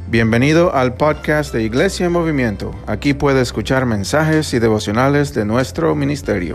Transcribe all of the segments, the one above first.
Bienvenido al podcast de Iglesia en Movimiento. Aquí puede escuchar mensajes y devocionales de nuestro ministerio.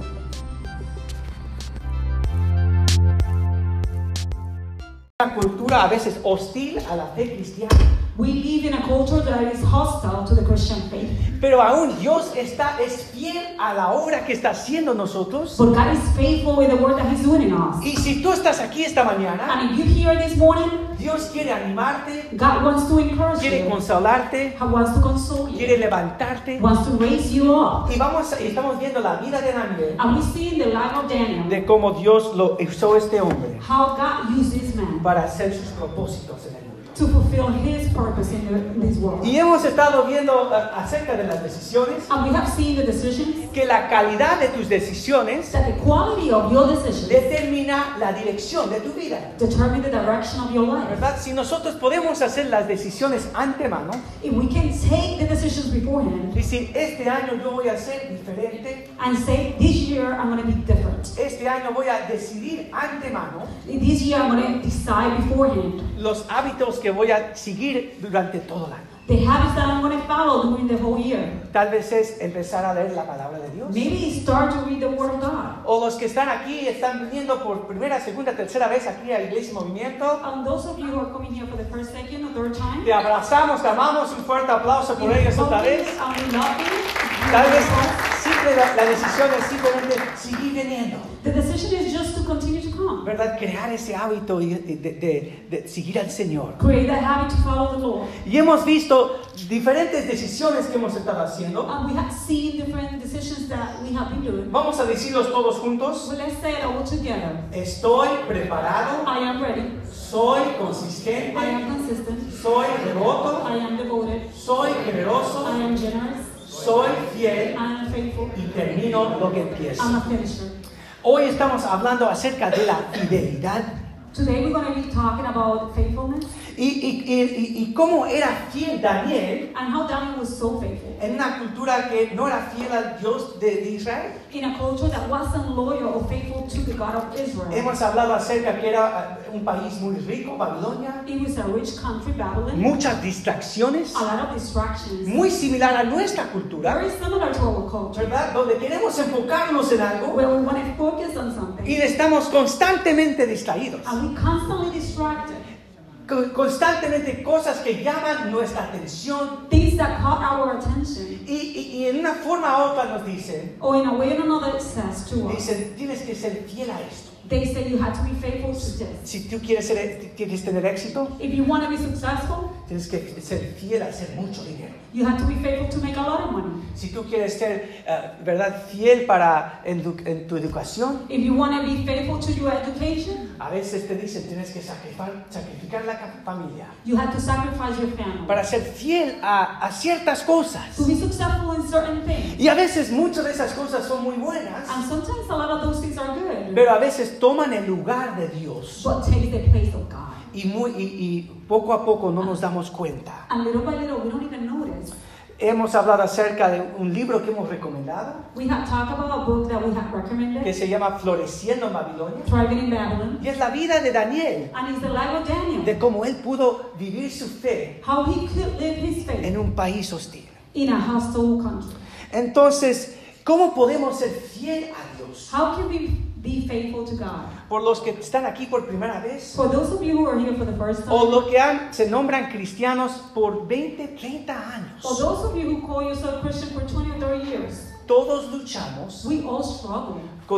Una cultura a veces hostil a la fe cristiana. We live in a culture that is hostile to the Christian faith. Pero aún Dios es fiel a la obra que está haciendo nosotros. But God is faithful with the work that He's doing in us. Y si tú estás aquí esta mañana, And if you're here this morning, Dios quiere animarte, God wants to encourage quiere you. consolarte, He wants to console you. quiere levantarte. Wants to raise you up. Y estamos viendo la vida de Daniel, And we see in the life of Daniel de cómo Dios lo usó este hombre how God used this man para hacer sus propósitos en el mundo. to fulfill His purpose in this world. Y hemos estado viendo acerca de las decisiones, And we have seen the decisions, que la calidad de tus decisiones that the quality of your decisions determina la dirección de tu vida, determine the direction of your life. ¿verdad? Si nosotros podemos hacer las decisiones antemano, If we can take the decisions beforehand decir, este año yo voy a ser diferente, and say, this year I'm going to be different. este año voy a decidir antemano This year I'm going to decide beforehand los hábitos que voy a seguir durante todo el año. the habits that I'm going to follow during the whole year. Tal vez es empezar a leer la palabra de Dios. Maybe start to read the Word of God. O los que están aquí, están viniendo por primera, segunda, tercera vez aquí a Iglesia en Movimiento. And those of you who are coming here for the first, second, or third time, Te abrazamos, te amamos, un fuerte aplauso por ellos otra vez. and we love you. Tal vez simple la decisión es simplemente seguir viniendo, The decision is just to continue to come. ¿verdad? Crear ese hábito de seguir al Señor. Create that habit to follow the Lord. Y hemos visto diferentes decisiones que hemos estado haciendo. And we have seen different decisions that we have been doing. Vamos a decirlos todos juntos. So let's say it all together. Estoy preparado, I am ready. soy I consistente, am consistent. soy devoto, I am devoted. soy generoso, I am generous. soy fiel I am faithful. y termino lo que empiezo. I'm a finisher. Hoy estamos hablando acerca de la fidelidad Today we're going to be talking about faithfulness y cómo era fiel Daniel and how Daniel was so faithful en una cultura que no era fiel al Dios de Israel. in a culture that wasn't loyal or faithful to the God of Israel. Hemos hablado acerca que era un país muy rico, Babilonia, It was a rich country, Babylon, muchas distracciones, a lot of distractions, muy similar a nuestra cultura, very similar to our culture, ¿verdad? Donde queremos enfocarnos en algo where we want to focus on something y estamos constantemente distraídos. and we constantly distracted. Constantemente cosas que llaman nuestra atención Things that caught our attention, y en una forma u otra nos dicen, or in a way or another it says to us, tienes que ser fiel a esto. they say you have to be faithful to this. Si tú quieres tener éxito, If you want to be successful, tienes que ser fiel a hacer mucho dinero. you have to be faithful to make a lot of money. Si tú quieres ser, ¿verdad?, fiel en tu educación, If you want to be faithful to your education, a veces te dicen tienes que sacrificar la familia you have to sacrifice your family. para ser fiel a ciertas cosas. To be successful in certain things. Y a veces muchas de esas cosas son muy buenas, And sometimes a lot of those things are good, pero a veces toman el lugar de Dios but take the place of God. y poco a poco no nos damos cuenta. And little by little, we don't even notice. Hemos hablado acerca de un libro que hemos recomendado We have talked about a book that we have que recommended, se llama Floreciendo en Babilonia, Thriving in Babylon, y es la vida de Daniel, and it's the life of Daniel, de cómo él pudo vivir su fe how he could live his faith en un país hostil. in a hostile country. Entonces, ¿cómo podemos ser fiel a Dios? How can we be faithful to God? Por los que están aquí por primera vez, For those of you who are here for the first o time, los que se nombran cristianos por 20, 30 or años, those of you who call yourself Christian for 20 or 30 years, todos luchamos we all struggle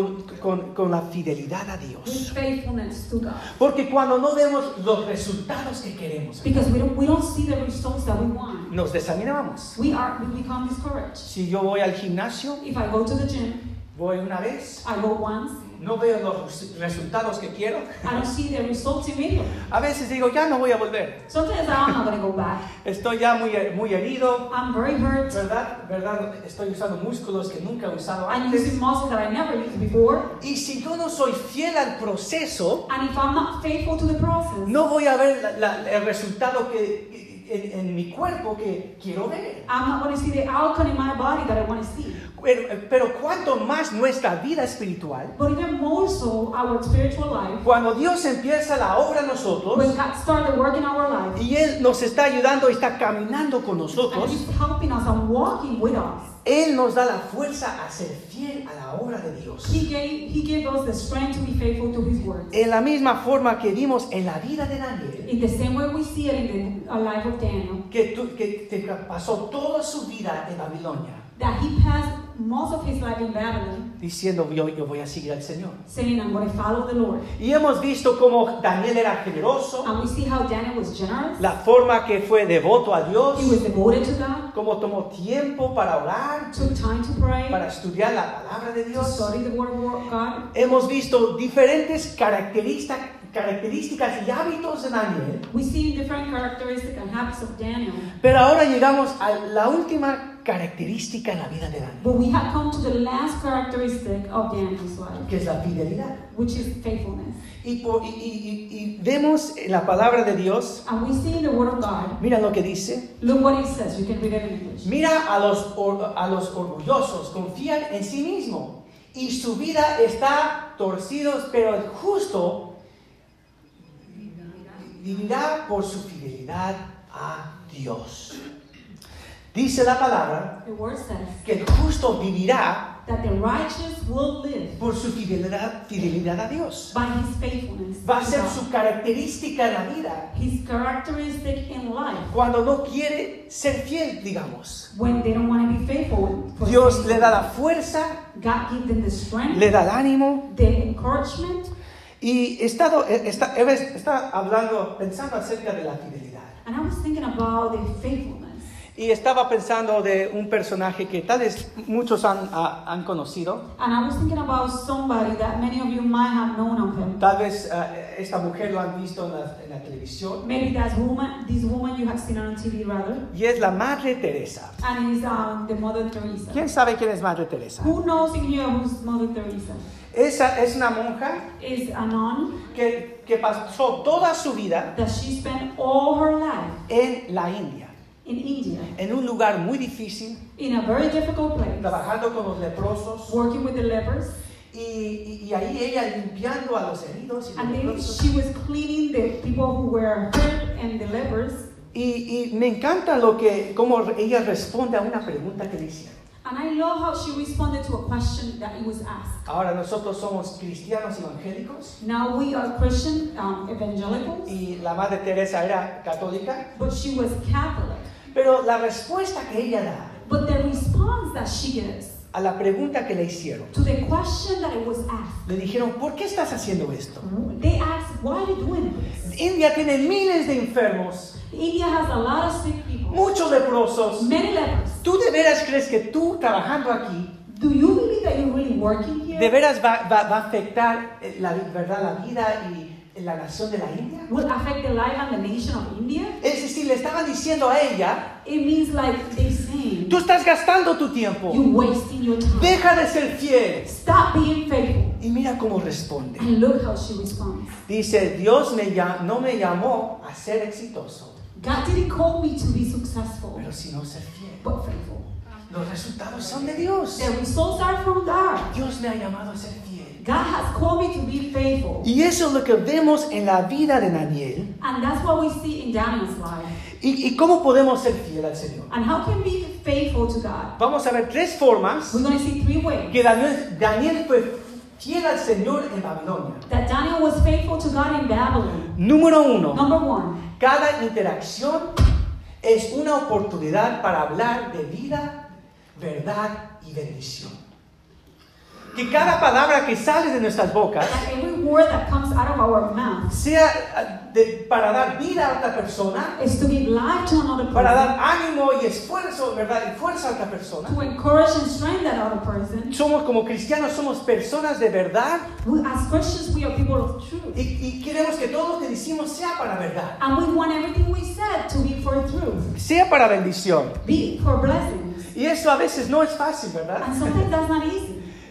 con la fidelidad a with Dios. faithfulness to God. Porque cuando no vemos los resultados que queremos, Because we don't see the results that we want. nos desanimamos. We become discouraged. Si yo voy al gimnasio, If I go to the gym, voy una vez, I go once, no veo los resultados que quiero, I don't see the results immediately. a veces digo, ya no voy a volver. Sometimes I'm not going to go back. Estoy ya muy herido, I'm very hurt. ¿verdad? Estoy usando músculos que nunca he usado I'm antes. using muscles that I never used before. Y si yo no soy fiel al proceso, And if I'm not faithful to the process, no voy a ver el resultado en mi cuerpo que quiero ver. I'm not going to see the outcome in my body that I want to see. Pero cuanto más nuestra vida espiritual, But even more so, our spiritual life, cuando Dios empieza la obra en nosotros, when God started working our life, y Él nos está ayudando y está caminando con and nosotros, He's helping us and walking with us, Él nos da la fuerza a ser fiel a la obra de Dios. He gave us the strength to be faithful to His word. En la misma forma que vimos en la vida de Daniel, In the same way we see it in the life of Daniel, que pasó toda su vida en Babilonia, that he passed most of his life in Babylon, diciendo yo voy a seguir al Señor. saying, I'm going to follow the Lord. Y hemos visto cómo Daniel era generoso, And we see how Daniel was generous. la forma que fue devoto a Dios, He was devoted to God, cómo tomó tiempo para orar, took time to pray, para estudiar la palabra de to Dios. study the word of God. Hemos visto diferentes características y hábitos de Daniel, We see different characteristics and habits of Daniel. pero ahora llegamos a la última característica en la vida de Daniel, But we have come to the last characteristic of Daniel's life, que es la fidelidad. which is faithfulness. Y vemos en la palabra de Dios, And we see in the word of God, mira lo que dice, look what it says. You can read it in English. mira a los orgullosos, confían en sí mismo y su vida está torcidos, pero el justo vivirá por su fidelidad a Dios. Dice la palabra The word says que el justo vivirá that the righteous will live por su fidelidad a Dios. by his faithfulness. Va a to ser God. su característica en la vida His characteristic in life cuando no quiere ser fiel, digamos. when they don't want to be faithful. for Dios faithful. le da la fuerza, God gives them the strength, le da el ánimo. the encouragement, Y está pensando acerca de la fidelidad. and I was thinking about the faithfulness. Y estaba pensando de un personaje que tal vez muchos han conocido. And I was thinking about somebody that many of you might have known of him. Tal vez esta mujer lo han visto en la televisión. Maybe this woman you have seen on TV rather, Y es la Madre Teresa. and is the Mother Teresa. ¿Quién sabe quién es Madre Teresa? Who knows in here who's Mother Teresa? Esa es una monja Is a nun que pasó toda su vida that she spent all her life en la India, in India, en un lugar muy difícil, in a very difficult place, trabajando con los leprosos. working with the lepers, Y ahí ella limpiando a los heridos y los and then leprosos. she was cleaning the people who were hurt and the lepers. Y me encanta cómo ella responde a una pregunta que le hicieron. And I love how she responded to a question that it was asked. Ahora nosotros somos cristianos evangélicos Now we are Christian evangelicals, y la Madre Teresa era católica, but she was Catholic. pero la respuesta que ella da But the response that she gives a la pregunta que le hicieron, to the question that it was asked, le dijeron, ¿por qué estás haciendo esto? they asked, why are you doing this? India tiene miles de enfermos, India has a lot of sick people, muchos leprosos. many lepers. ¿Tú de veras crees que tú trabajando aquí, Do you believe that you're really working here? de veras va a afectar la vida y la nación de la India? Will affect the life and the nation of India? Es decir, le estaban diciendo a ella, It means like they saying, tú estás gastando tu tiempo, you wasting your time. deja de ser fiel. Stop being faithful. Y mira cómo responde. And look how she responds. Dice, Dios no me llamó a ser exitoso, God didn't call me to be successful, pero sino ser fiel. but faithful. Los resultados son de Dios. The results are from God. Dios me ha llamado a ser fiel. God has called me to be faithful. Y eso es lo que vemos en la vida de Daniel. And that's what we see in Daniel's life. ¿Y cómo podemos ser fiel al Señor? And how can we be faithful to God? Vamos a ver tres formas We're going to see three ways que Daniel fue fiel al Señor en Babilonia. that Daniel was faithful to God in Babylon. Número uno, Number one, cada interacción es una oportunidad para hablar de vida, verdad y bendición. Que cada palabra que sale de nuestras bocas that every word that comes out of our mouth sea para dar vida a otra persona, is to give life to another para person, dar ánimo y esfuerzo, verdad, y fuerza a otra persona. to encourage and strengthen that other person. Somos como cristianos, somos personas de verdad As Christians, we are people of truth. y queremos que todo lo que decimos sea para verdad, And we want everything we said to be for truth, sea para bendición. be for blessings. Y eso a veces no es fácil, ¿verdad? And sometimes that's not easy.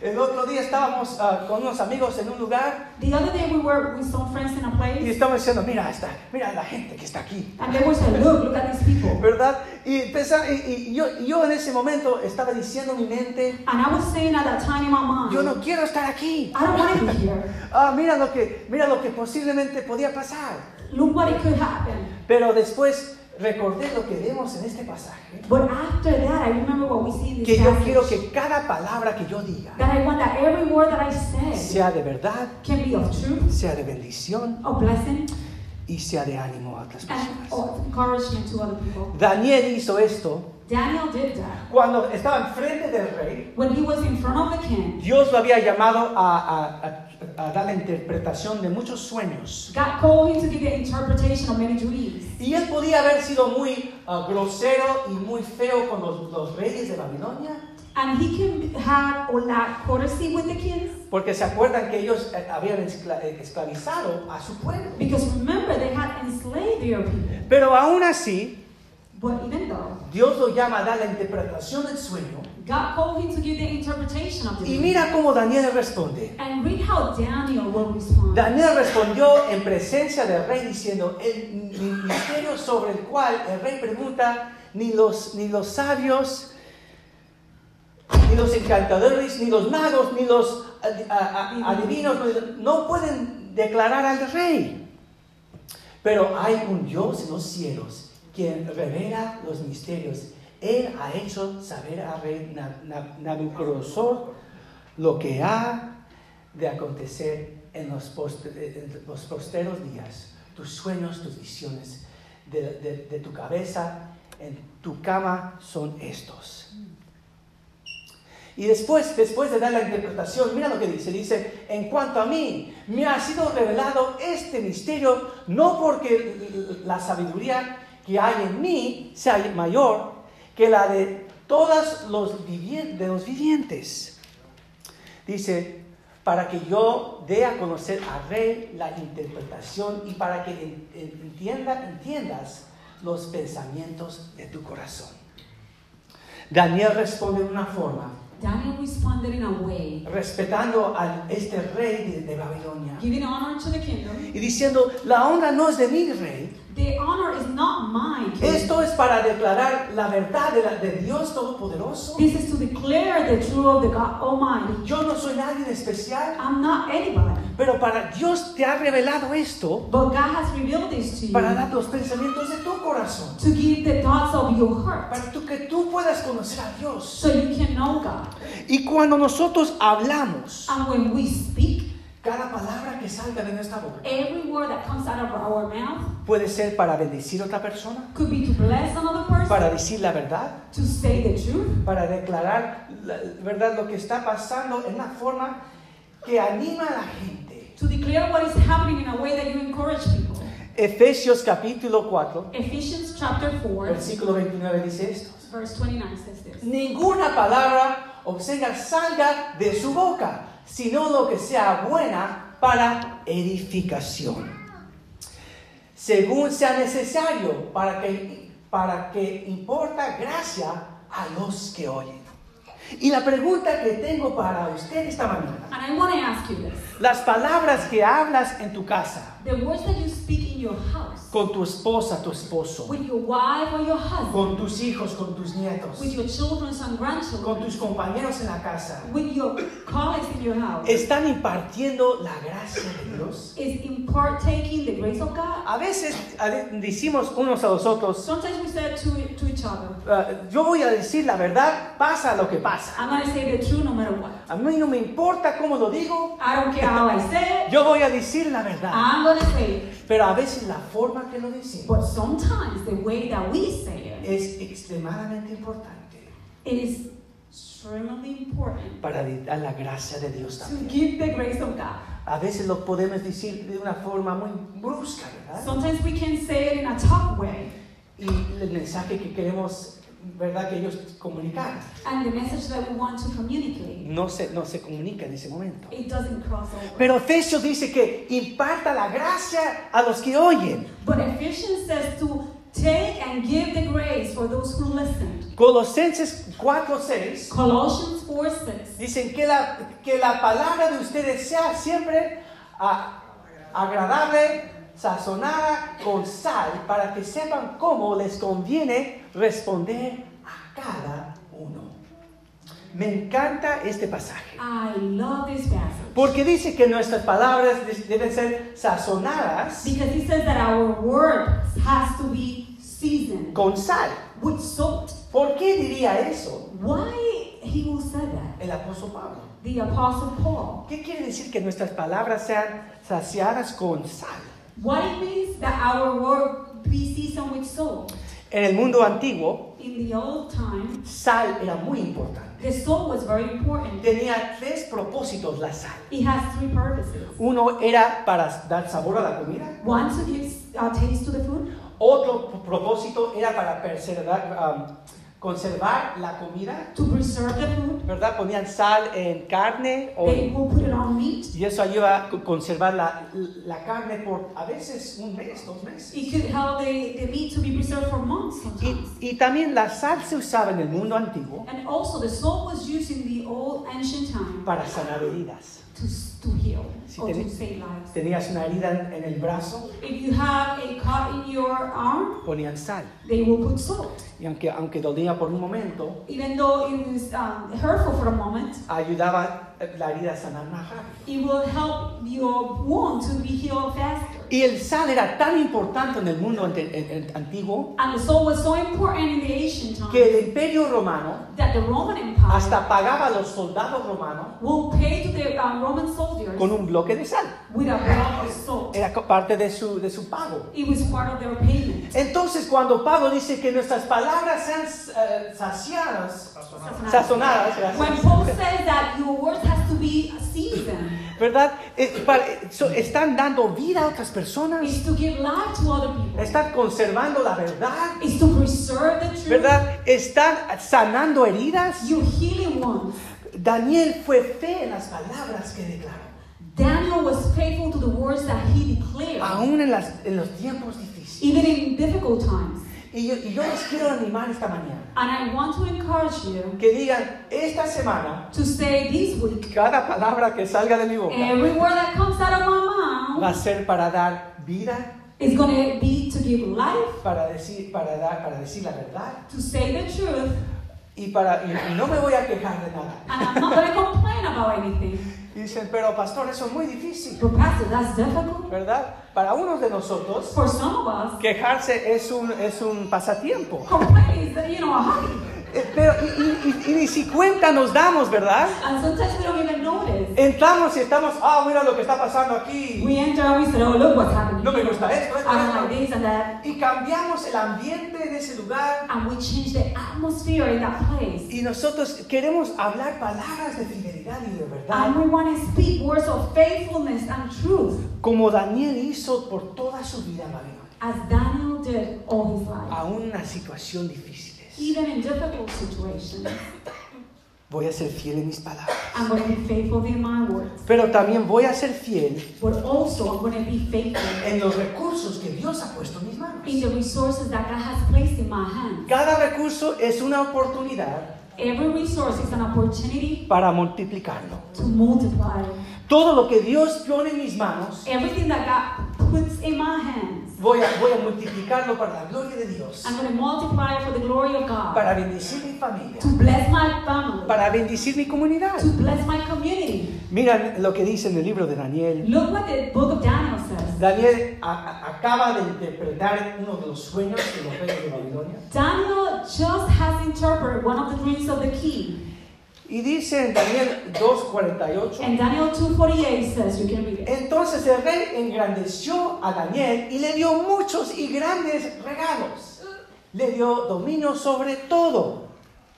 El otro día estábamos con unos amigos en un lugar The other day we were with some friends in a y place, estaban diciendo, mira la gente que está aquí, and they were saying, look at these people. ¿verdad? Y yo en ese momento estaba diciendo en mi mente, And I was saying at that time in my mind, yo no quiero estar aquí. I don't want to be here. Mira lo que posiblemente podía pasar. Look what it could happen. Pero después recordé lo que vemos en este pasaje, But after that, I remember what we see in que this yo passage. quiero que cada palabra que yo diga That I want that every word that I said sea de verdad, can be of truth, sea de bendición of blessing, y sea de ánimo a otras and personas. of encouragement to other people. Daniel hizo esto Daniel did that. cuando estaba enfrente del rey. When he was in front of the king, Dios lo había llamado a dar la interpretación de muchos sueños. God called him to give the interpretation of many dreams. Y él podía haber sido muy grosero y muy feo con los reyes de Babilonia, And he can have all that courtesy with the kings. porque se acuerdan que ellos habían esclavizado a su pueblo. Because remember, they had enslaved their people. Pero aún así, But even though Dios lo llama a dar la interpretación del sueño. God called him to give the interpretation of the Y dream. mira cómo Daniel responde. And read how Daniel will respond. Daniel respondió en presencia del rey diciendo, el misterio sobre el cual el rey pregunta, ni los sabios, ni los encantadores, ni los magos, ni los adivinos, no pueden declarar al rey. Pero hay un Dios en los cielos quien revela los misterios. Él ha hecho saber al rey Nabucodonosor lo que ha de acontecer en los posteros días. Tus sueños, tus visiones de tu cabeza, en tu cama son estos. Y después de dar la interpretación, mira lo que dice. Dice, en cuanto a mí, me ha sido revelado este misterio, no porque la sabiduría que hay en mí sea mayor que la de todos los vivientes. Dice, para que yo dé a conocer al rey la interpretación y para que entiendas los pensamientos de tu corazón. Daniel responde de una forma, Daniel responded in a way, respetando a este rey de Babilonia giving honor to the kingdom. y diciendo, la honra no es de mi rey. The honor is not mine, king. Esto es para declarar la verdad de Dios Todopoderoso. This is to declare the truth of the God Almighty. Yo no soy nadie especial, I'm not anybody, pero para Dios te ha revelado esto but God has revealed this to you para dar los pensamientos de tu corazón, to give the thoughts of your heart, para que tú puedas conocer a Dios. so you can know God. Y cuando nosotros hablamos, And when we speak, cada palabra que salga de nuestra boca every word that comes out of our mouth puede ser para bendecir a otra persona, could be to bless another person, para decir la verdad, to say the truth, para declarar la verdad, lo que está pasando en una forma que anima a la gente. to declare what is happening in a way that you encourage people. Efesios capítulo 4, Ephesians chapter 4, versículo 29 dice esto. verse 29 says this. Ninguna palabra obscena salga de su boca, sino lo que sea buena para edificación, según sea necesario, para que importa gracia a los que oyen. Y la pregunta que tengo para usted esta mañana, And I want to ask you this. las palabras que hablas en tu casa, The words that you speak in your house, con tu esposa, tu esposo, with your wife or your husband, con tus hijos, con tus nietos, with your children and con grandchildren, tus compañeros en la casa, with your colleagues in your house, ¿están impartiendo la gracia de Dios? is impartaking the grace of God? A veces decimos unos a los otros, Sometimes we say to each other, yo voy a decir la verdad, pasa lo que pasa. I'm going to say the truth no matter what. A mí no me importa cómo lo digo, I don't care how I say it, yo voy a decir la verdad. I'm going to say it. Pero a veces la forma que lo decimos But sometimes the way that we say it, es extremadamente importante it is extremely important para dar la gracia de Dios to también. give the grace of God. A veces lo podemos decir de una forma muy brusca, ¿verdad? Sometimes we can say it in a tough way. Y el mensaje que queremos, ¿verdad?, que ellos comunicar And the message that we want to communicate, no se comunica en ese momento. it doesn't cross over. Pero Efesios dice que imparta la gracia a los que oyen. But Ephesians says to Take and give the grace for those who listen. Colosenses 4:6 Colossians 4:6. dicen que la palabra de ustedes sea siempre agradable, sazonada con sal, para que sepan cómo les conviene responder a cada uno. Me encanta este pasaje. I love this passage. Porque dice que nuestras palabras deben ser sazonadas Because he says that our words has to be seasoned con sal. with salt. ¿Por qué diría eso Why he will say that? el apóstol Pablo? The Apostle Paul. ¿Qué quiere decir que nuestras palabras sean saciadas con sal? What it means that our word be seasoned with salt. En el mundo antiguo, In the old time, sal era muy importante. the salt was very important. Tenía 3 propósitos la sal. It has 3 purposes. Uno era para dar sabor a la comida. One, to give taste to the food. Otro propósito era para conservar la comida, To preserve the food. ¿verdad? Ponían sal en carne They will put it on meat. y eso ayuda a conservar la carne por a veces 1 mes, 2 meses. It could help the meat to be preserved for months sometimes. Y también la sal se usaba en el mundo antiguo And also the salt was used in the old ancient time para sanar heridas. to heal Si or to ten- save lives. Tenías una herida en el brazo, If you have a cut in your arm, ponían sal. they will put salt. Y aunque dolía por un momento, Even though it was hurtful for a moment, ayudaba la herida a sanar más rápido. it will help your wound to be healed faster. Y el sal era tan importante en el mundo antiguo And the salt was so important in the ancient time que el Imperio Romano that the Roman Empire hasta pagaba a los soldados romanos will pay to the Roman soldiers con un bloque de sal. with a block of salt. Era parte de su pago. It was part of their payment. Entonces, cuando Pablo dice que nuestras palabras sean sazonadas, gracias, When Paul says that your words has to be seasoned, ¿verdad? Están dando vida a otras personas, is to give life to other people. están conservando la verdad, Is to preserve the truth. ¿verdad? Están sanando heridas. You're healing ones. Daniel fue fe en las palabras que declaró, Daniel was faithful to the words that he declared, aún en los tiempos difíciles. even in difficult times. Y yo les quiero animar esta mañana, And I want to encourage you que digan, esta semana, to say this week, cada palabra que salga de mi boca every word that comes out of my va mouth a ser para dar vida, is going to be to give life, para decir la verdad, to say the truth, y no me voy a quejar de nada. and I'm not going to complain about anything. Y dicen, pero pastor, eso es muy difícil, But Pastor, that's difficult. ¿verdad? Para unos de nosotros, For some of us, quejarse es un pasatiempo. complaining is, a hobby. Pero y ni si cuenta nos damos, ¿verdad? And sometimes we don't even notice. Entramos y estamos, mira lo que está pasando aquí. We enter and we say, oh, look what's happening. No me gusta esto, I don't like this and that. Y cambiamos el ambiente de ese lugar. And we change the atmosphere in that place. Y nosotros queremos hablar palabras de fidelidad y de verdad, And we want to speak words of faithfulness and truth, como Daniel hizo por toda su vida en Babilonia, as Daniel did all his life. aún en una situación difícil. Even in difficult situations, Voy a ser fiel en mis palabras, I'm going to be faithful in my words. pero también voy a ser fiel But also, I'm going to be faithful en los recursos que Dios ha puesto en mis manos. in the resources that God has placed in my hands. Cada recurso es una oportunidad Every resource is an opportunity para multiplicarlo. to multiply. Todo lo que Dios pone en mis manos, Everything that God puts in my hands, voy a multiplicarlo para la gloria de Dios, I'm going to multiply it for the glory of God. para bendecir mi familia, To bless my family. para bendecir mi comunidad. To bless my community. Miren lo que dice en el libro de Daniel. Look what the book of Daniel says. Daniel acaba de interpretar uno de los sueños de los reyes de Babilonia. Daniel just has interpreted one of the dreams of the king. Y dice en Daniel 2:48. And Daniel 2:48 says, you can read it. Entonces el rey engrandeció a Daniel y le dio muchos y grandes regalos. Le dio dominio sobre todo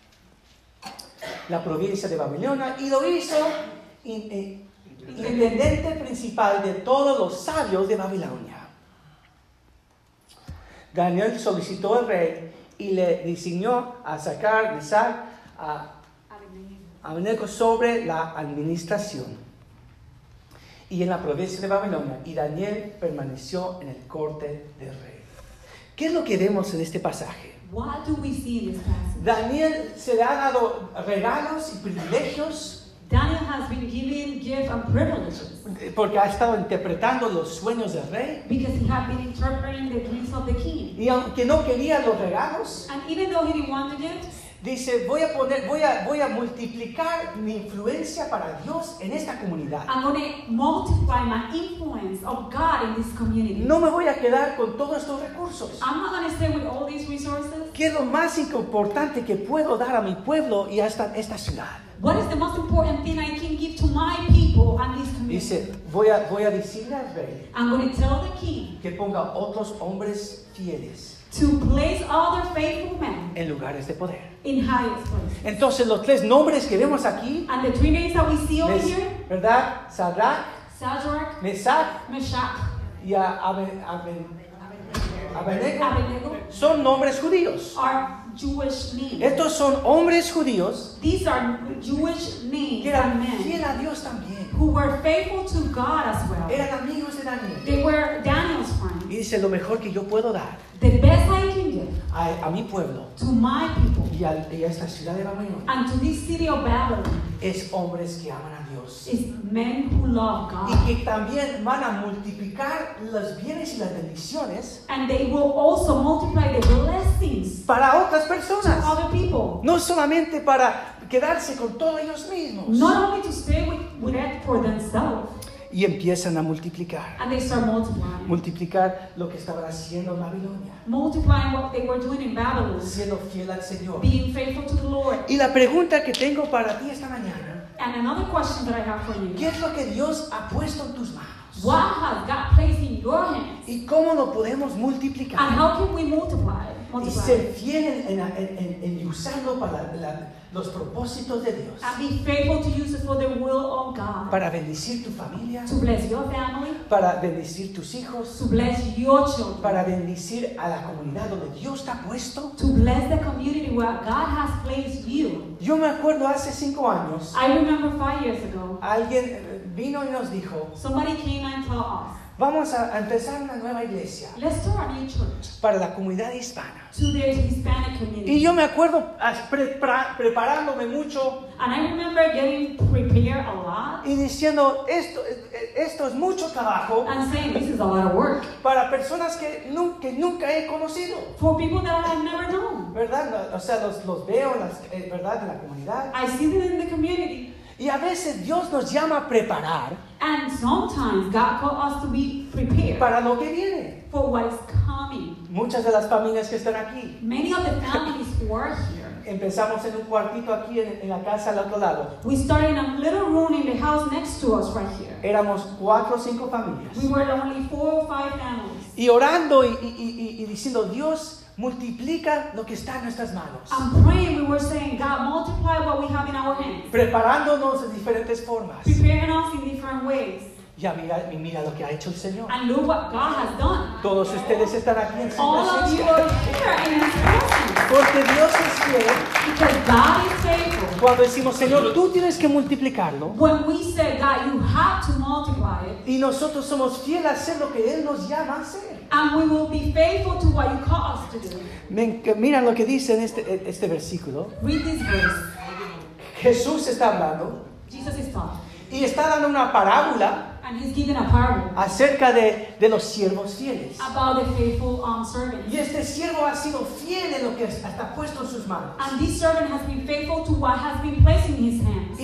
la provincia de Babilonia y lo hizo intendente principal de todos los sabios de Babilonia. Daniel solicitó al rey y le designó a sacar a Abednego sobre la administración y en la provincia de Babilonia, y Daniel permaneció en el corte del rey. ¿Qué es lo que vemos en este pasaje? What do we see in this passage? Daniel se le ha dado regalos y privilegios Daniel has been given gifts and privileges porque ha estado interpretando los sueños del rey. because he had been interpreting the dreams of the king. Y aunque no quería los regalos, And even though he didn't want the gifts, dice, voy a multiplicar mi influencia para Dios en esta comunidad. I'm going to multiply my influence of God in this community. No me voy a quedar con todos estos recursos. I'm not going to stay with all these resources. ¿Qué es lo más importante que puedo dar a mi pueblo y a esta ciudad? What is the most important thing I can give to my people and this community? Dice, voy a decirle al rey I'm going to tell the king que ponga otros hombres fieles to place other faithful men en lugares de poder. in highest places. Entonces los tres nombres que vemos aquí, And the three names that we see over here, ¿verdad? Sadrach, Shadrach, Mesach Meshach, y Abednego, Abednego, son nombres judíos. are Jewish names. Estos son hombres judíos These are Jewish names que and eran men fieles a Dios también. who were faithful to God as well. Eran amigos de Daniel. They were Daniel's friends. Y dice, lo mejor que yo puedo dar The best I can give a mi pueblo to my people y a esta ciudad de Babilonia and to this city of Babylon es hombres que aman a Dios is men who love y God. que también van a multiplicar los bienes y las bendiciones And they will also multiply the blessings para otras to personas, other people. no solamente para quedarse con todos ellos mismos. Not only to stay with it for themselves, Y empiezan a multiplicar, and they start multiplying. multiplicar lo que estaban haciendo en Babilonia, Multiplying what they were doing in Babylon, siendo fiel al Señor. being faithful to the Lord. Y la pregunta que tengo para ti esta mañana, And another question that I have for you. ¿qué es lo que Dios ha puesto en tus manos? What has God placed in your hands? ¿Y cómo lo podemos And multiplicar? how can we multiply? Y ser fiel en usarlo para los propósitos de Dios. And be faithful to use it for the will of God. Para bendecir tu familia, To bless your family, para bendecir tus hijos, to bless your children, para bendecir a la comunidad donde Dios te ha puesto. to bless the community where God has placed you. Yo me acuerdo hace 5 años, I remember 5 years ago, alguien vino y nos dijo, somebody came and told us, vamos a empezar una nueva iglesia let's start a new church para la comunidad hispana. to the Hispanic Y community. yo me acuerdo preparándome mucho And I remember getting prepared a lot y diciendo, esto es mucho trabajo and saying, this is a lot of work para personas que nunca he conocido. for people that I have never known. ¿Verdad? O sea, los veo ¿verdad? En la comunidad. I see them in the community. Y a veces Dios nos llama a preparar And sometimes God calls us to be prepared para lo que viene. for what is coming. Muchas de las familias que están aquí, Many of the families who are here, empezamos en un cuartito aquí en la casa al otro lado. we started in a little room in the house next to us right here. Éramos 4 o 5 familias. We were only 4 or 5 families. Y orando y diciendo, Dios, multiplica lo que está en nuestras manos. And praying, we were saying, God, multiply what we have in our hands. Preparándonos de diferentes formas. Preparing us in different ways. Ya mira lo que ha hecho el Señor. And look what God has done. Todos ustedes están aquí en su All of you presencia. are here in His presence. Porque Dios es fiel. Because God is faithful. Cuando decimos, Señor, tú tienes que multiplicarlo. When we say, God, you have to multiply it. Y nosotros somos fieles a hacer lo que Él nos llama a hacer. And we will be faithful to what you call us to do. Mira lo que dice en este versículo. Read this verse. Jesús está hablando Jesus is talking. y está dando una parábola And He's giving a parable acerca de los siervos fieles. about the faithful servant. Y este siervo ha sido fiel en lo que está puesto en sus manos. And this servant has been faithful to what has been placed in his hands.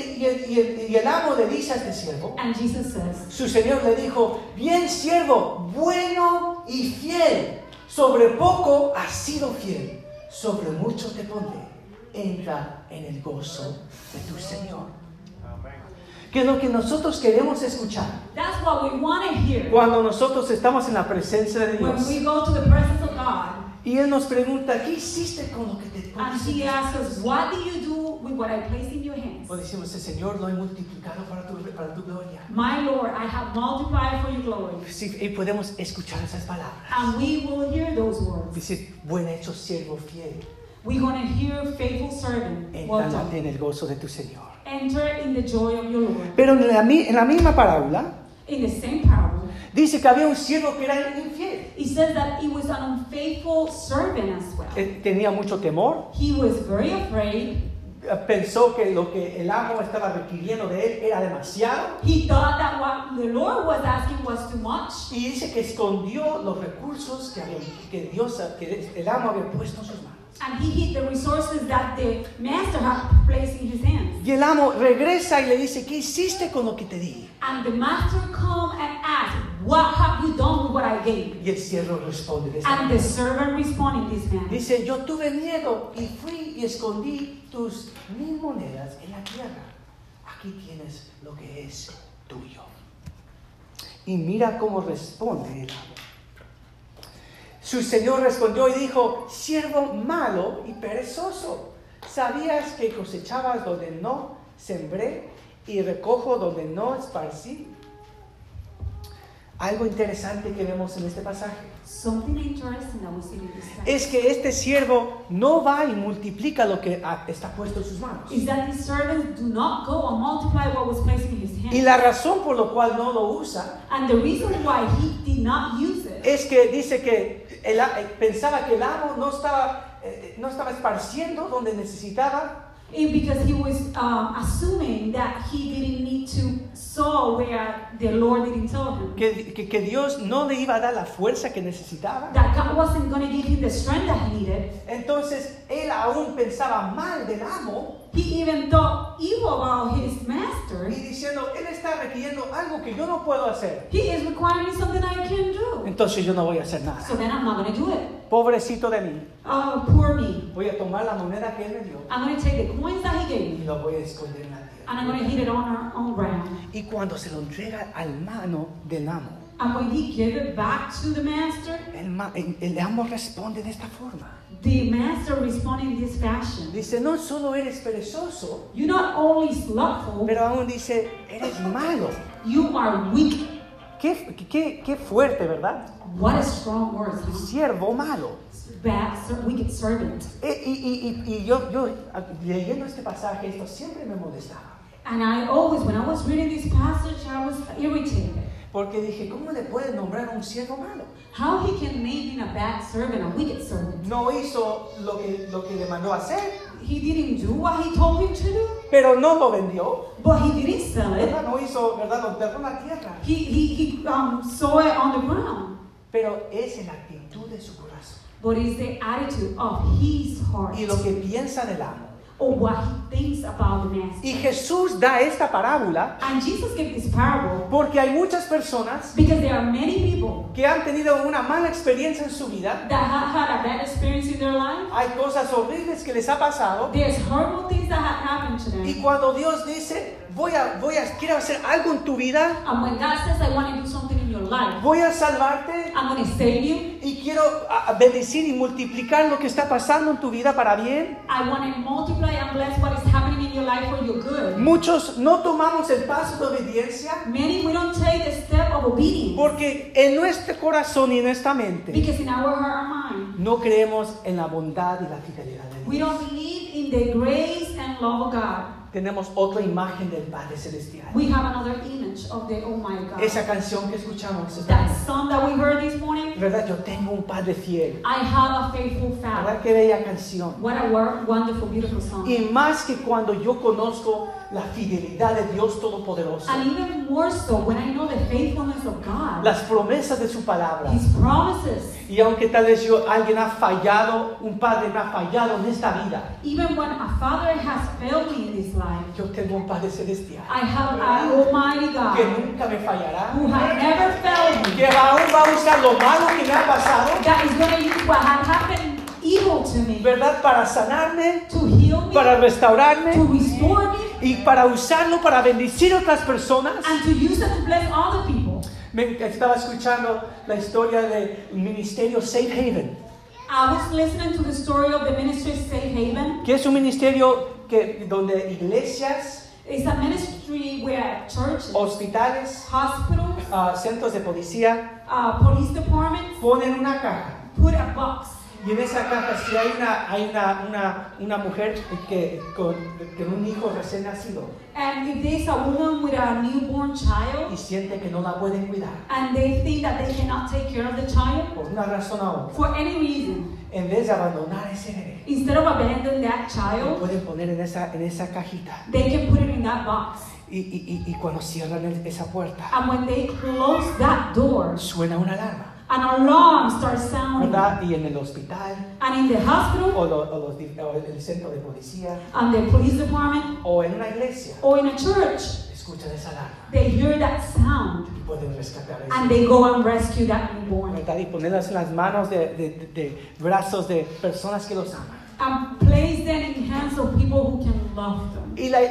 Y el amo le dice a este siervo, And Jesus says, su señor le dijo, bien siervo, bueno y fiel, sobre poco has sido fiel, sobre mucho te pondré, entra en el gozo de tu Señor. Que es lo que nosotros queremos escuchar that's what we want to hear cuando nosotros estamos en la presencia de when Dios. we go to the presence of God. Y Él nos pregunta, ¿qué hiciste con lo que te And He asks us, what do you do with what I place in your hands? O decimos, Señor, lo he multiplicado para tu gloria. My Lord, I have multiplied for your glory. Sí, y podemos escuchar esas palabras. And we will hear those words. Dice, buen hecho, siervo fiel. We're going to hear faithful servant. Well Entra done. en el gozo de tu Señor. Enter in the joy of your Lord. Pero en la misma parábola, In the same parable, Dice que había un siervo que era infiel. He says that he was an unfaithful servant as well. Tenía mucho temor. He was very afraid. Pensó que lo que el amo estaba requiriendo de él era demasiado. He thought that what the Lord was asking was too much. Y dice que escondió los recursos que el amo había puesto en sus manos. And he hid the resources that the master had placed in his hands. Y el amo regresa y le dice, ¿qué hiciste con lo que te di? And the master come and ask, what have you done with what I gave? Y el siervo responde de esta And the manera. servant responded this manner. Dice, yo tuve miedo y fui y escondí tus 1000 monedas en la tierra. Aquí tienes lo que es tuyo. Y mira cómo responde el amo. Su señor respondió y dijo, siervo malo y perezoso, ¿sabías que cosechabas donde no sembré y recojo donde no esparcí? Algo interesante que vemos en este pasaje Something interesting that we see in this text es que este siervo no va y multiplica lo que está puesto en sus manos. is that his servants do not go and multiply what was placed in his Y hands. la razón por la cual no lo usa And the reason why he did not use it es que dice que pensaba que el amo no estaba esparciendo donde necesitaba. is because he was assuming that he didn't need to sow where the Lord didn't tell him. Que Dios no le iba a dar la fuerza que necesitaba. That God wasn't going to give him the strength that he needed. Entonces él aún pensaba mal del amo He even thought evil about his master. y diciendo, él está requiriendo algo que yo no puedo hacer. He is requiring something I can't do. Entonces yo no voy a hacer nada. So then I'm not going to do it. Pobrecito de mí. Poor me. Voy a tomar la moneda que él me dio I'm going to take the coins that he gave y me lo voy a esconder en la and I'm tierra. going to hit it on ground. Y cuando se lo entrega al mano del amo, And when he gave it back to the master, el amo responde de esta forma. the master responded in this fashion. Dice, no solo eres perezoso, You're not only slothful, pero aún dice, eres malo. you are weak. Qué fuerte, ¿verdad? What a strong word, huh? Siervo malo. Bad, wicked servant. Y yo leyendo este pasaje, esto siempre me molestaba. And I always, when I was reading this passage, I was irritated. Porque dije, ¿cómo le pueden nombrar a un siervo malo? How he can make him a bad servant, a wicked servant. No hizo lo que le mandó a hacer, He didn't do what he told him to do, pero no lo vendió. but he didn't sell it. ¿Verdad? No hizo, ¿verdad? Lo enterró en la tierra. He saw it on the ground. Pero es en la actitud de su corazón. But it's the attitude of his heart, Y lo que piensa del amo. or what he thinks about the master. Y Jesús da esta parábola And Jesus gave this parable porque hay muchas personas because there are many people que han tenido una mala experiencia en su vida. that have had a bad experience in their life. Hay cosas horribles que les ha pasado. There's horrible things that have happened to Y them. cuando Dios dice, quiero hacer algo en tu vida, And when God says, I want to do something in your life, voy a salvarte I'm going to save you. y quiero bendecir y multiplicar lo que está pasando en tu vida para bien. I want to multiply and bless what is happening in your life for your good. Muchos no tomamos el paso de obediencia Many, we don't take the step of obedience porque en nuestro corazón y en nuestra mente because in our heart and mind, no creemos en la bondad y la fidelidad de we Dios. don't believe in the grace and love of God. Tenemos otra imagen del Padre Celestial. We have another image of the Almighty God. Esa canción que escuchamos, That song that we heard this morning, ¿verdad? Yo tengo un Padre fiel. I have a faithful ¿Verdad? Father. Qué bella canción. What a wonderful, beautiful song. Y más que cuando yo conozco la fidelidad de Dios Todopoderoso, And even more so when I know the faithfulness of God, las promesas de su palabra. His promises. Y aunque tal vez alguien ha fallado, un padre me ha fallado en esta vida, Even when a father has failed me in this life, yo tengo un Padre Celestial I have an Almighty que God nunca me fallará, who has never failed me, que aún va a usar lo malo que me ha pasado, that is going to use what had happened evil to me ¿verdad? Para sanarme, to heal me, para to restaurarme restore me, y para usarlo para bendecir a otras personas. and to use it to bless other people. Me estaba escuchando la historia del ministerio Safe Haven, I was listening to the story of the ministry Safe Haven. que es un ministerio donde iglesias, It's a ministry where churches, hospitales, hospitals, centros de policía police departments ponen una caja put a box Y en esa caja, si hay una mujer con un hijo recién nacido And if there's a woman with a newborn child y siente que no la pueden cuidar and they think that they cannot take care of the child por una razón u otra, for any reason, en vez de abandonar ese bebé, instead of abandoning that lo child, pueden poner en esa cajita. they can put it in that box. Y cuando cierran esa puerta, And when they close that door, suena una alarma, an alarm starts sounding. ¿verdad? Y en el hospital, And in the hospital, o en el centro de policía, and the police department, o en una iglesia, or in a church, escuchan esa alarma they hear that sound y pueden rescatar a and ese they go and rescue that newborn. ¿verdad? Y ponerlas en las manos de brazos de personas que los aman. And place them in hands of people who can love them.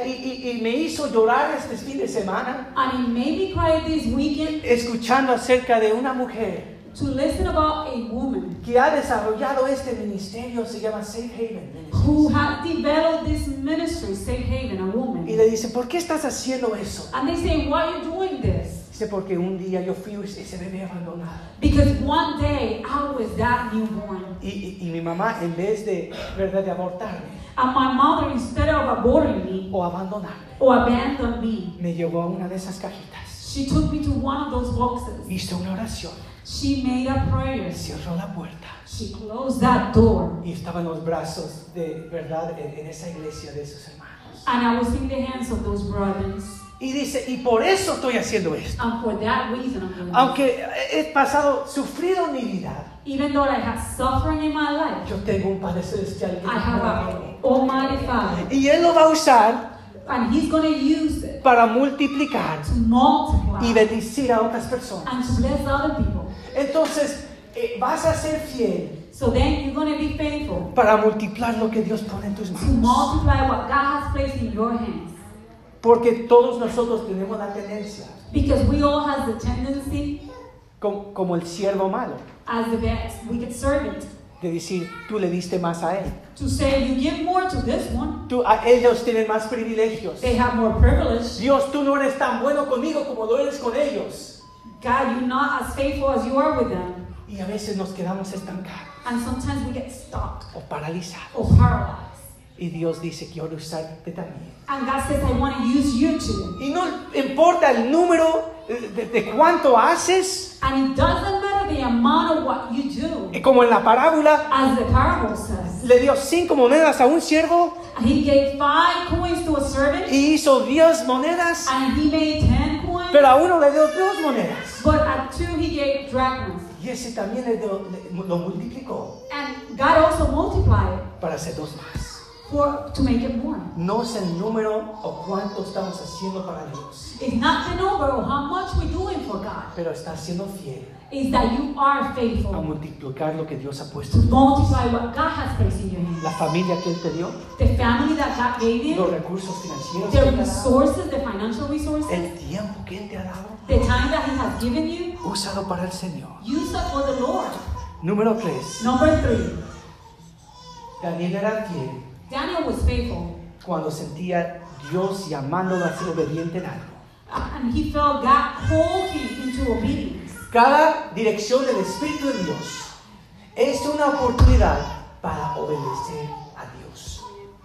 Y me hizo llorar este fin de semana And it made me cry this weekend escuchando acerca de una mujer to listen about a woman que ha desarrollado este ministerio, se llama Safe Haven who Ministries. had developed this ministry, Safe Haven, a Y woman. le dice, ¿por qué estás haciendo eso? And they say, why are you doing this? Dice, porque un día yo fui ese bebé abandonado. Because one day I was that newborn. Y mi mamá, en vez de, ¿verdad?, de abortarme And my mother, instead of aborting me o abandonarme, or abandon me, me llevó a una de esas cajitas. she took me to one of those boxes. Hizo una oración, She made a prayer. cerró la puerta She closed that door. y estaba en los brazos de, ¿verdad?, en esa iglesia de sus hermanos. And I was in the hands of those brothers. Y dice, y por eso estoy haciendo esto. And for that reason, I'm doing this. Aunque he pasado, sufrido en mi vida, Even though I had suffering in my life, yo tengo un Padre Celestial que I me have ama. an Almighty Father. Y Él lo va a usar And He's going to use it para multiplicar to multiply y bendecir a otras personas. and to bless other people. Entonces, vas a ser fiel So then you're going to be faithful para multiplicar lo que Dios pone en tus to manos. multiply what God has placed in your hands. Porque todos nosotros tenemos la tendencia, Because we all have the tendency, como el siervo malo, as the wicked servant, de decir, tú le diste más a él. to say, you give more to this one. Ellos tienen más privilegios. They have more privilege. Dios, tú no eres tan bueno conmigo como lo eres con ellos. God, you're not as faithful as you are with them. Y a veces nos quedamos estancados And sometimes we get stuck o paralizados. or paralyzed. Y Dios dice, quiero usarte también. And God says, I want to use you too. Y no importa el número de cuánto haces, And it doesn't matter the amount of what you do. como en la parábola, As the parable says, le dio 5 monedas a un siervo He gave 5 coins to a servant, y hizo 10 monedas, and he made 10 coins. pero a uno le dio 2 monedas. But at 2 he gave drachmas. Y ese también lo multiplicó And God also multiplied para hacer 2 más. to make it more. No es el número o cuánto estamos haciendo para Dios, It's not the number of how much we're doing for God. pero estás siendo fiel It's that you are a faithful multiplicar lo que Dios ha puesto to en tu manos. multiply what God has placed in your hands. La familia que Él te dio, The family that God gave los you, recursos financieros que the Él te ha dado, resources, the financial resources, el tiempo que Él te ha dado, the time that He has given you, úsalo para el Señor. use it for the Lord. Número 3. Number 3, Daniel era fiel Daniel was faithful. cuando sentía Dios llamándolo a ser obediente en algo. And he felt God called him into obedience. Cada dirección del Espíritu de Dios es una oportunidad para obedecer a Dios.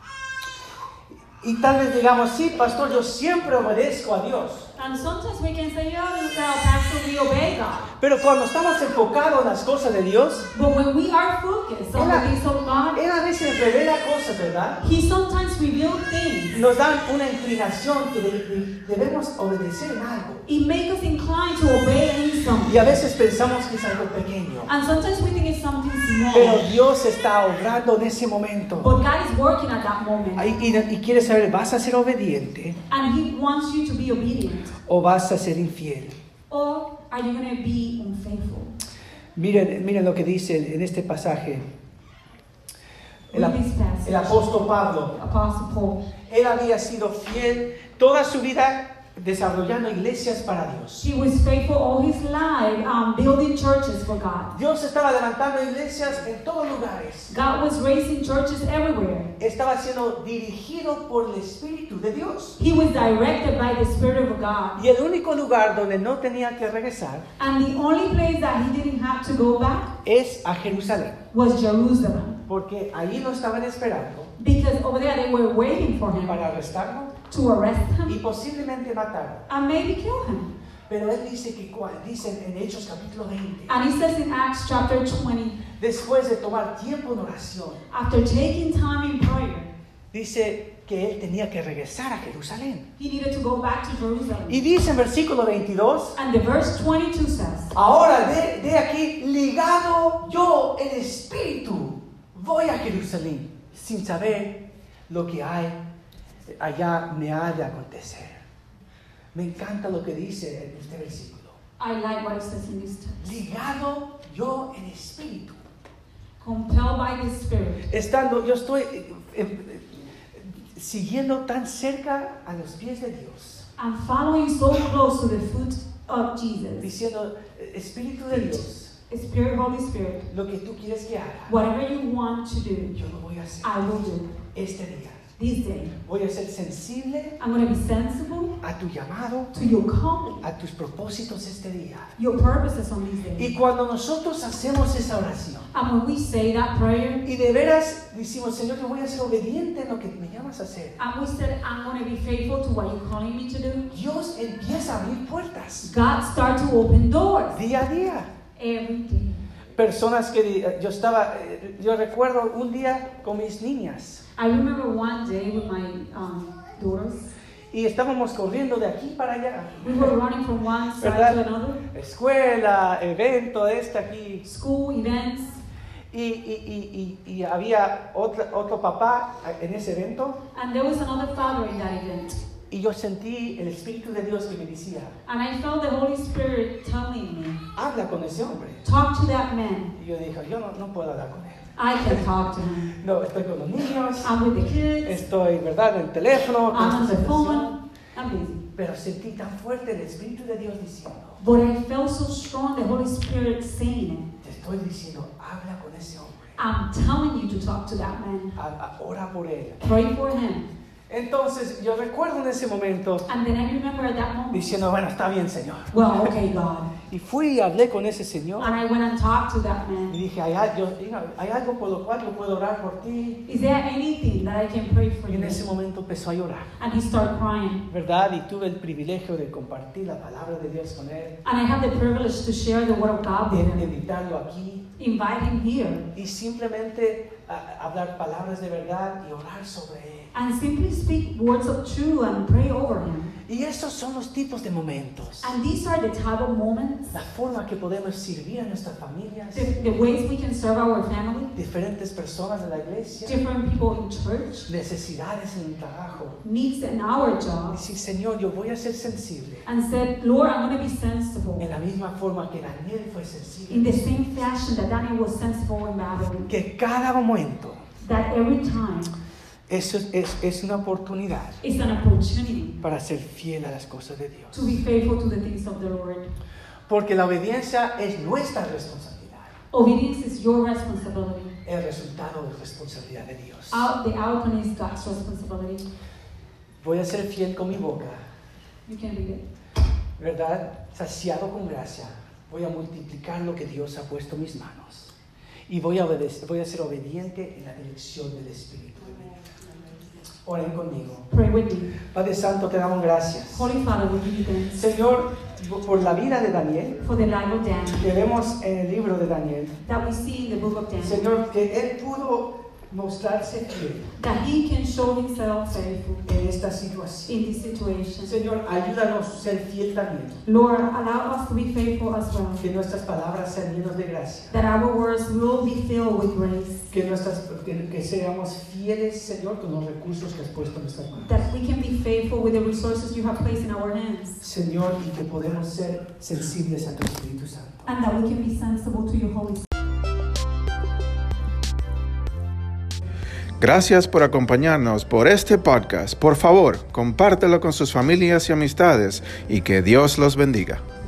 Y tal vez digamos, sí, pastor, yo siempre obedezco a Dios. And sometimes we can say, Pastor, we obey God. Pero cuando estamos enfocados en las cosas de Dios, But when we are focused on the things of God, Él a veces revela cosas, ¿verdad? He sometimes reveals things. Nos dan una inclinación que debemos obedecer en algo. It makes us inclined to obey in something. Y a veces pensamos que es algo pequeño. And sometimes we think it's something Pero small. Dios está obrando en ese momento. But God is working at that moment. Y quiere saber, ¿vas a ser obediente And He wants you to be obedient. o vas a ser infiel? Or are you going to be unfaithful? Miren lo que dice en este pasaje. Read this passage. El apóstol Pablo, Apostle Paul. él había sido fiel toda su vida desarrollando iglesias para Dios. He was faithful all his life, building churches for God. Dios estaba levantando iglesias en todos lugares. God was raising churches everywhere. Estaba siendo dirigido por el Espíritu de Dios. He was directed by the Spirit of God. Y el único lugar donde no tenía que regresar And the only place that he didn't have to go back es a Jerusalén. was Jerusalem. Porque ahí lo estaban esperando Because over there they were waiting for him para arrestarlo to arrest y him posiblemente matarlo. and maybe kill him. Pero él dice que dicen en Hechos capítulo 20, And he says in Acts chapter 20, después de tomar tiempo en oración, after taking time in prayer, dice que él tenía que regresar a Jerusalén. he needed to go back to Jerusalem. Y dice en versículo 22, And the verse 22 says, ahora de aquí, ligado yo en espíritu, voy a Jerusalén, sin saber lo que hay allá me ha de acontecer. Me encanta lo que dice en este versículo. I like what it says in this text. Ligado yo en espíritu. Compelled by the Spirit. Yo estoy siguiendo tan cerca a los pies de Dios, I'm following so close to the foot of Jesus. diciendo, Espíritu de Dios, Spirit, Holy Spirit, lo que tú quieres que haga, whatever you want to do, yo lo voy a hacer I will do. este día. This day, Voy a ser sensible I'm going to be sensible a tu llamado, to your calling, a tus propósitos este día. your purposes on this Y day. cuando nosotros hacemos esa oración And when we say that prayer, y de veras decimos, Señor, yo voy a ser obediente en lo que me llamas a hacer, and we said, I'm going to be faithful to what you're calling me to do, Dios empieza a abrir puertas God starts to open doors día a día. every day. Personas que yo recuerdo un día con mis niñas I remember one day with my daughters, y estábamos corriendo de aquí para allá. we were running from one side ¿Verdad? to another, Escuela, evento, aquí. school events, Y había otro papá en ese evento and there was another father in that event. y yo sentí el Espíritu de Dios que me decía, And I felt the Holy Spirit telling me, habla con ese hombre. talk to that man. Y yo dije, yo no puedo hablar con él. I can talk to him. No, estoy con los niños, I'm with the kids, estoy, ¿verdad?, en el teléfono. con I'm on esta the situación. phone, I'm busy. Pero sentí tan fuerte el Espíritu de Dios diciendo, But I felt so strong, the Holy Spirit saying te estoy diciendo, habla con ese hombre. it. I'm telling you to talk to that man. Ora por él. Pray for him. Entonces yo recuerdo en ese momento And then I remember at that moment, diciendo, bueno, está bien, Señor. well, okay, God. Y fui y hablé con ese señor And I went and talked to that y man. dije, hay algo por lo cual yo puedo orar por ti. Is there anything that I can pray for Y you? en ese momento empezó a llorar, And he started crying. ¿verdad? Y tuve el privilegio de compartir la palabra de Dios con él, And I had the privilege to share the word of God with de him. invitarlo aquí Invite him here. y simplemente hablar palabras de verdad y orar sobre él. And simply speak words of truth and pray over him. Y esos son los tipos de momentos, And these are the type of moments, la forma que podemos servir a nuestras familias, the ways we can serve our family, diferentes personas de la iglesia, different people in church, necesidades en el trabajo. needs in our Y job. decir, Señor, yo voy a ser sensible And said, Lord, I'm going to be sensible. en la misma forma que Daniel fue In sensible. the same fashion that Daniel was sensible in Babylon. Que cada momento That every time eso es una oportunidad is an opportunity para ser fiel a las cosas de Dios. to be faithful to the things of the Lord. Porque la obediencia es nuestra responsabilidad. Obedience is your responsibility. El resultado es responsabilidad de Dios. The outcome is God's responsibility. Voy a ser fiel con mi boca, You can read it. ¿verdad? Saciado con gracia. Voy a multiplicar lo que Dios ha puesto en mis manos. Y voy a ser obediente en la dirección del Espíritu. Oren conmigo. Pray with me. Padre Santo, te damos gracias. Holy Father, we give you thanks Señor, por la vida de Daniel, for the life of Daniel que vemos en el libro de Daniel. that we see in the book of Daniel. Señor, que él pudo mostrarse fiel That he can show himself faithful en esta situación. in this situation. Señor, ayúdanos a ser fiel también. Lord, allow us to be faithful as well. Que nuestras palabras sean llenas de gracia. That our words will be filled with grace. Que seamos fieles, Señor, con los recursos que has puesto en nuestras manos. That we can be faithful with the resources you have placed in our hands. Señor, y que podemos ser sensibles a tu Espíritu Santo. And that we can be sensible to your Holy Spirit. Gracias por acompañarnos por este podcast. Por favor, compártelo con sus familias y amistades y que Dios los bendiga.